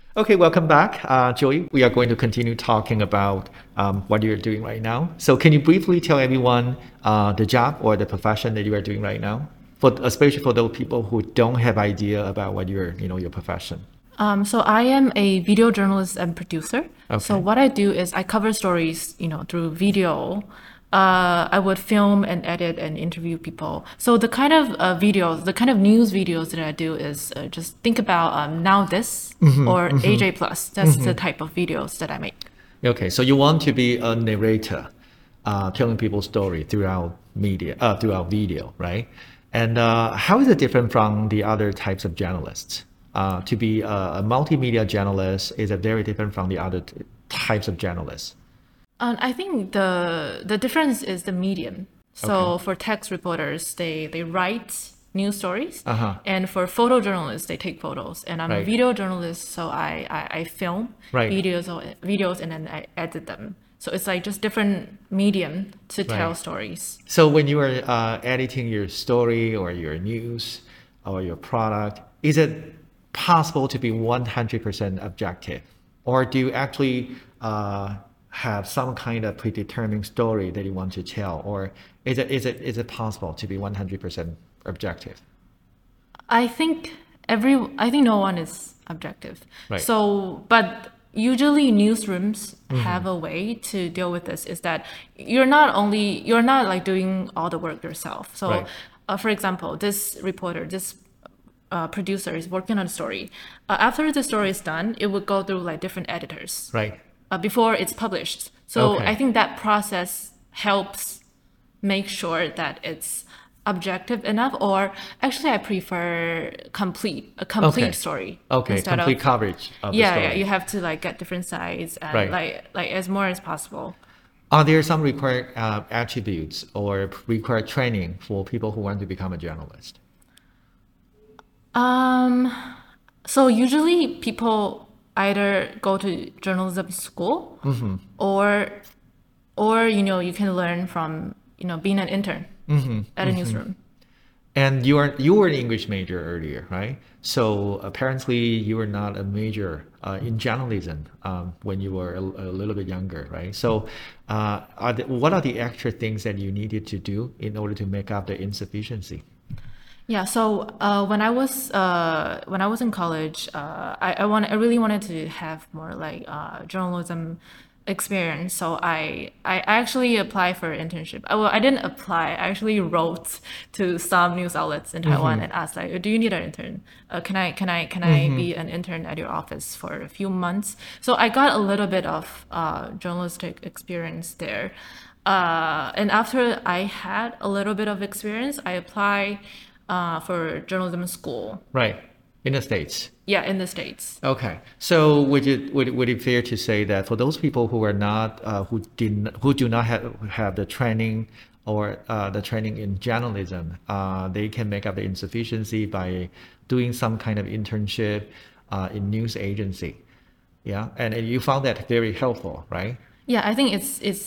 Okay, welcome back, Joey. We are going to continue talking about what you're doing right now. So, can you briefly tell everyone the job or the profession that you are doing right now, for especially for those people who don't have idea about what your profession? So I am a video journalist and producer. So Okay, what I do is I cover stories, through video. I would film and edit and interview people. So the kind of videos, the kind of news videos that I do is just think about Now This or AJ Plus. That's the type of videos that I make. okay. So you want to be a narrator, telling people's story throughout media, throughout video, right? And how is it different from the other types of journalists? To be a multimedia journalist is it very different from the other types of journalists? I think the difference is the medium. Okay. So for text reporters, they write news stories, Uh-huh. and for photojournalists, they take photos. And I'm a Right. video journalist, so I film Right. videos and then I edit them. So it's like just different medium to tell Right. stories. So when you are editing your story or your news or your product, is it possible to be 100% objective? Or do you actually have some kind of predetermined story that you want to tell? Or is it possible to be 100% objective? I think no one is objective. Right. So, but usually newsrooms have a way to deal with this is that you're not like doing all the work yourself. So, Right. for example, this producer is working on a story. After the story is done, it would go through like different editors Right. before it's published. So I Okay. think that process helps make sure that it's objective enough, or actually I prefer a complete Okay. story Okay. instead of Complete coverage of the yeah, you story. have to like get different sides and Right. like as more as possible. Are there some required attributes or required training for people who want to become a journalist? Um, so usually people either go to journalism school or you can learn from being an intern at a newsroom. And you were an English major earlier, right? So apparently you were not a major in journalism when you were a little bit younger, right? So what are the extra things that you needed to do in order to make up the insufficiency? Yeah, so when I was in college, I really wanted to have more like journalism experience. So I actually applied for an internship. Well, I didn't apply. I actually wrote to some news outlets in Taiwan and asked like, "Do you need an intern? Can I be an intern at your office for a few months?" So I got a little bit of journalistic experience there. And after I had a little bit of experience, I applied for journalism school. Right, in the States. Yeah, in the States. Okay. So would it fair to say that for those people who are not who do not have the training or the training in journalism, they can make up the insufficiency by doing some kind of internship in news agency. Yeah, and you found that very helpful, right? Yeah, I think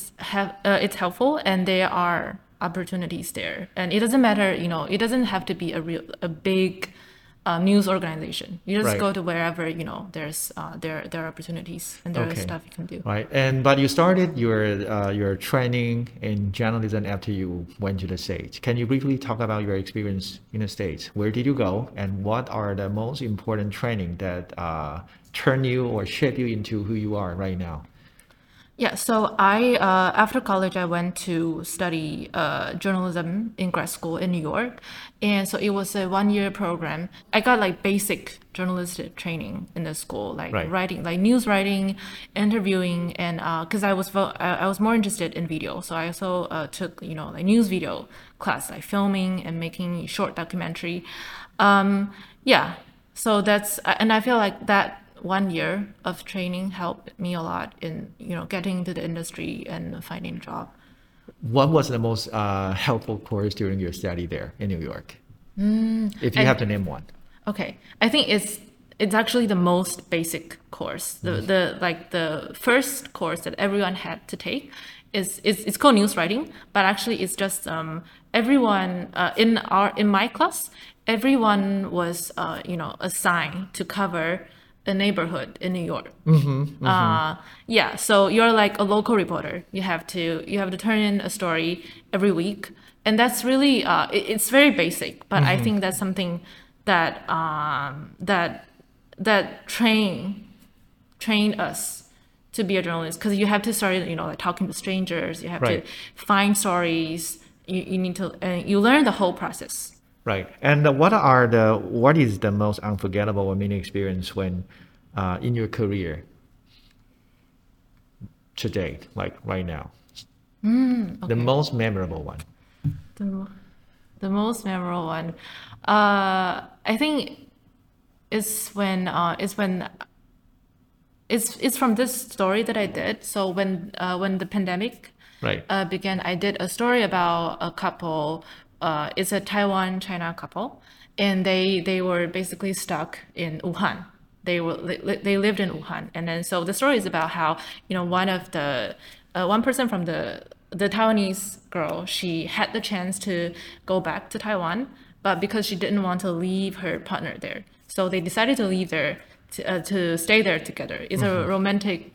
it's helpful, and there are opportunities there, and it doesn't matter. It doesn't have to be a big news organization. You just Right. go to wherever there are opportunities and there are Okay. stuff you can do. Right. And but you started your training in journalism after you went to the States. Can you briefly talk about your experience in the States? Where did you go, and what are the most important training that turn you or shape you into who you are right now? Yeah, so I after college I went to study journalism in grad school in New York, and so it was a 1 year program. I got like basic journalistic training in the school, like Right. writing, like news writing, interviewing, and because I was more interested in video, so I also took like news video class, like filming and making short documentary. Yeah, so that's and I feel like that 1 year of training helped me a lot in getting into the industry and finding a job. What was the most helpful course during your study there in New York? If you have I to name one. Okay, I think it's actually the most basic course. The like the first course that everyone had to take is it's called news writing, but actually it's just everyone in my class, everyone was assigned to cover a neighborhood in New York. Yeah, so you're like a local reporter. You have to turn in a story every week, and that's really it's very basic, but I think that's something that that train us to be a journalist, because you have to start, like talking to strangers. You have Right. to find stories. You need to, and you learn the whole process. Right. And what is the most unforgettable or mini experience when in your career to date, like right now? The Okay. most memorable one. The, the most memorable one, I think, is when it's from this story that I did. So when the pandemic Right. began, I did a story about a couple. It's a Taiwan China couple, and they were basically stuck in Wuhan. They lived in Wuhan, and then so the story is about how one person from the Taiwanese girl, she had the chance to go back to Taiwan, but because she didn't want to leave her partner there, so they decided to leave there to stay there together. It's a romantic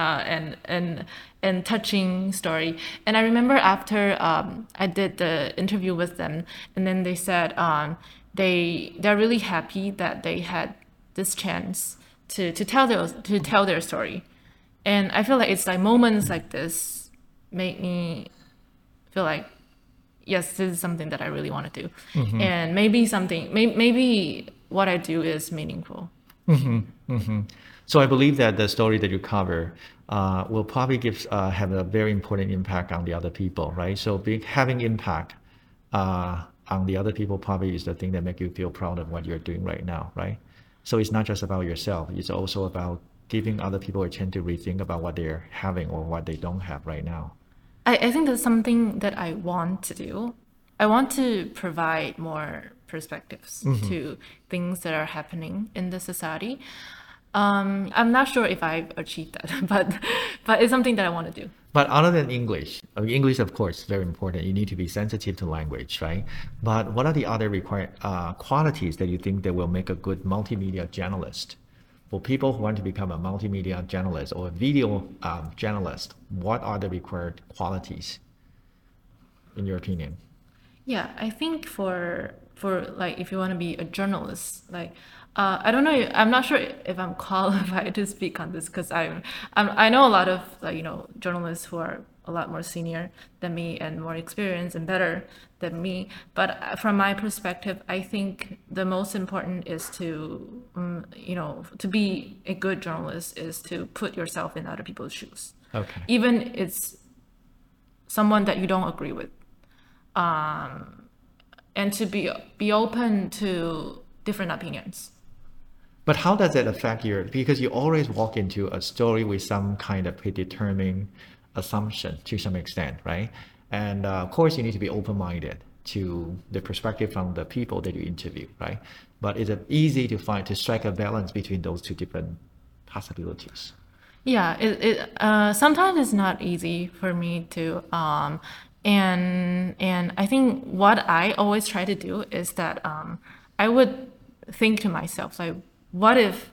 and touching story. And I remember after I did the interview with them, and then they said they're really happy that they had this chance to tell their story. And I feel like it's like moments like this make me feel like, yes, this is something that I really want to do, and maybe what I do is meaningful. So I believe that the story that you cover will probably have a very important impact on the other people, right? So having impact on the other people probably is the thing that make you feel proud of what you're doing right now, right? So it's not just about yourself; it's also about giving other people a chance to rethink about what they're having or what they don't have right now. I think that's something that I want to do. I want to provide more perspectives to things that are happening in the society. I'm not sure if I've achieved that, but it's something that I want to do. But other than English, I mean, English, of course, is very important. You need to be sensitive to language, right? But what are the other required qualities that you think that will make a good multimedia journalist? For people who want to become a multimedia journalist or a video journalist, what are the required qualities, in your opinion? Yeah, I think for like if you want to be a journalist, like I don't know, I'm not sure if I'm qualified to speak on this because I know a lot of like journalists who are a lot more senior than me and more experienced and better than me. But from my perspective, I think the most important is to to be a good journalist is to put yourself in other people's shoes, Okay. even it's someone that you don't agree with, and to be open to different opinions. But how does that affect because you always walk into a story with some kind of predetermined assumption to some extent, right? And of course, you need to be open-minded to the perspective from the people that you interview, right? But is it easy to strike a balance between those two different possibilities? Yeah, it sometimes it's not easy for me to and I think what I always try to do is that I would think to myself like, what if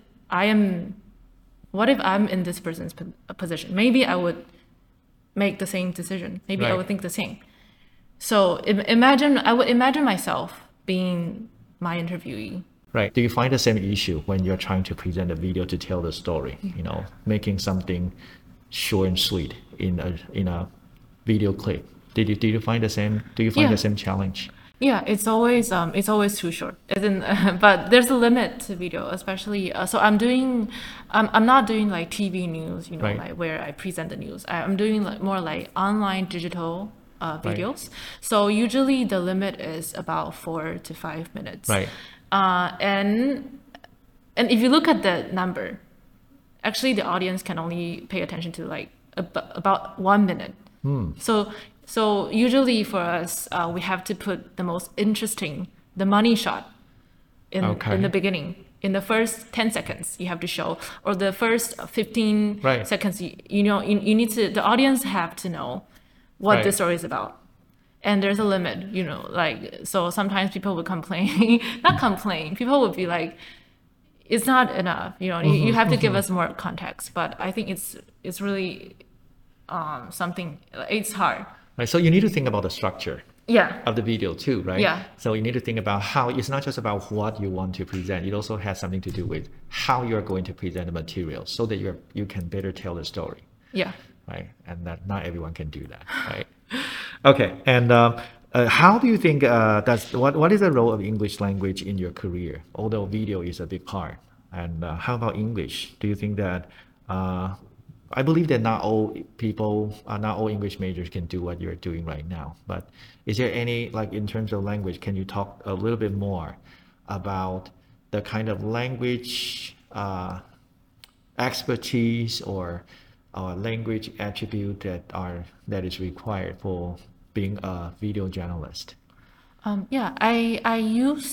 I'm in this person's position? Maybe I would make the same decision. Maybe I Right. would think the same. So I would imagine myself being my interviewee. Right. Do you find the same issue when you're trying to present a video to tell the story, making something short and sweet in a video clip? Did you find the same? Do you find Yeah. the same challenge? Yeah, it's always too short. As in, but there's a limit to video, especially. So I'm not doing like TV news, Right. like where I present the news. I'm doing like more like online digital videos. So usually the limit is about 4 to 5 minutes. Right. And if you look at the number, actually the audience can only pay attention to like about 1 minute. So usually for us, we have to put the most interesting, the money shot Okay. in the beginning. In the first 10 seconds, you have to show, or the first 15 Right. seconds, you need to, the audience have to know what the Right. story is about. And there's a limit, like, so sometimes people would complain, not complain, people would be like, it's not enough. You have to give us more context. But I think it's really something. It's hard. Right. So you need to think about the structure Yeah. of the video too, right? Yeah. So you need to think about how it's not just about what you want to present. It also has something to do with how you're going to present the material so that you can better tell the story. Yeah. Right. And that not everyone can do that. Right. Okay. And how do you think what is the role of English language in your career? Although video is a big part. And how about English? Do you think that I believe that not all English majors can do what you're doing right now. But is there any, like in terms of language, can you talk a little bit more about the kind of language expertise or language attribute that is required for being a video journalist? Yeah, I use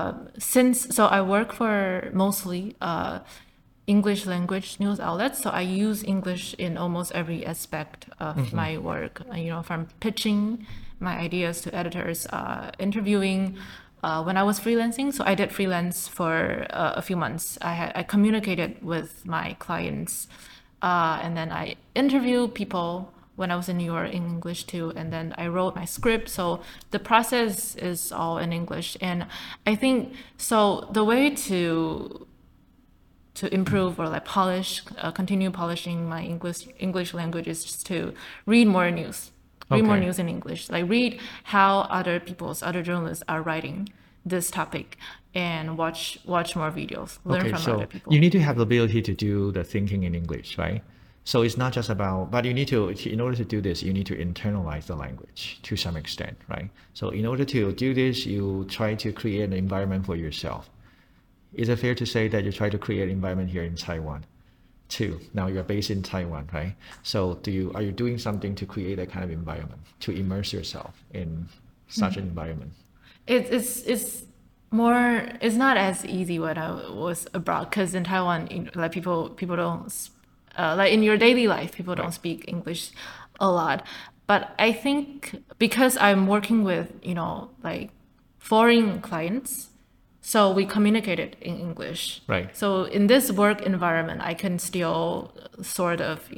so I work for mostly English language news outlets, so I use English in almost every aspect of my work. From pitching my ideas to editors, interviewing. When I was freelancing, so I did freelance for a few months. I communicated with my clients, and then I interviewed people when I was in New York in English too, and then I wrote my script. So the process is all in English, and I think so. The way to improve or like polish, continue polishing my English language is just to read more news. Read more news in English. Like read how other journalists are writing this topic, and watch more videos. Learn from other people. You need to have the ability to do the thinking in English, right? So it's not just about, but you need to, in order to do this, you need to internalize the language to some extent, right? So in order to do this, you try to create an environment for yourself. Is it fair to say that you try to create an environment here in Taiwan too? Now you're based in Taiwan, right? So are you doing something to create that kind of environment, to immerse yourself in such an environment? It's not as easy when I was abroad, because in Taiwan, like people don't like in your daily life, people don't speak English a lot. But I think because I'm working with like foreign clients, so we communicated in English. Right. So in this work environment, I can still sort of,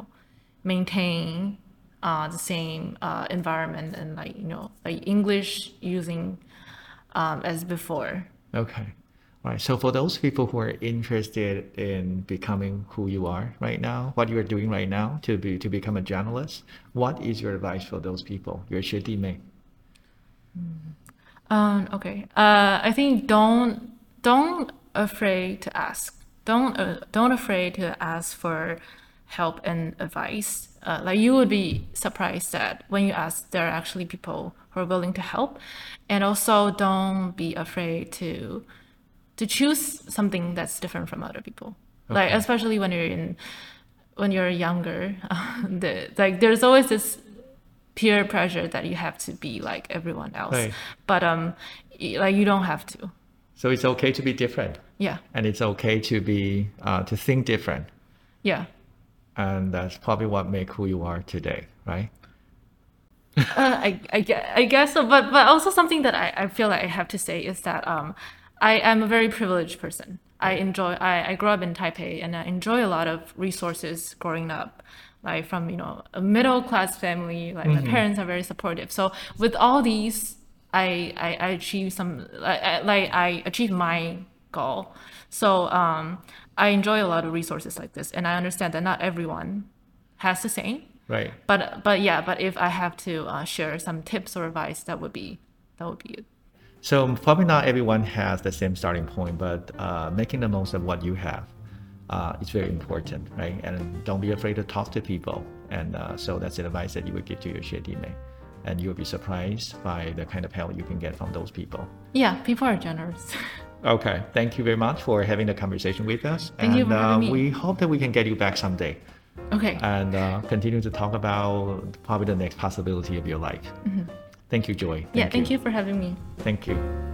maintain the same environment and like English using as before. Okay. All right. So for those people who are interested in becoming who you are right now, what you are doing right now to become a journalist, what is your advice for those people, your 学弟妹? Okay. I think don't afraid to ask. Don't afraid to ask for help and advice. Like you would be surprised that when you ask, there are actually people who are willing to help. And also don't be afraid to choose something that's different from other people. Like especially when you're younger, there's always this peer pressure that you have to be like everyone else. Right. But like you don't have to. So it's okay to be different. Yeah. And it's okay to be to think different. Yeah. And that's probably what makes who you are today, right? I guess so. But also something that I feel like I have to say is that I am a very privileged person. I grew up in Taipei, and I enjoy a lot of resources growing up. Like from a middle class family, like my parents are very supportive. So with all these, I achieved I achieved my goal. So I enjoy a lot of resources like this, and I understand that not everyone has the same. Right. But if I have to share some tips or advice, that would be it. So probably not everyone has the same starting point, but making the most of what you have. It's very important, right? And don't be afraid to talk to people. And so that's the advice that you would give to your 学弟妹. And you'll be surprised by the kind of help you can get from those people. Yeah, people are generous. Okay, thank you very much for having the conversation with us. Thank you for having me. We hope that we can get you back someday. Okay. And continue to talk about probably the next possibility of your life. Thank you, Joy. Thank you for having me. Thank you.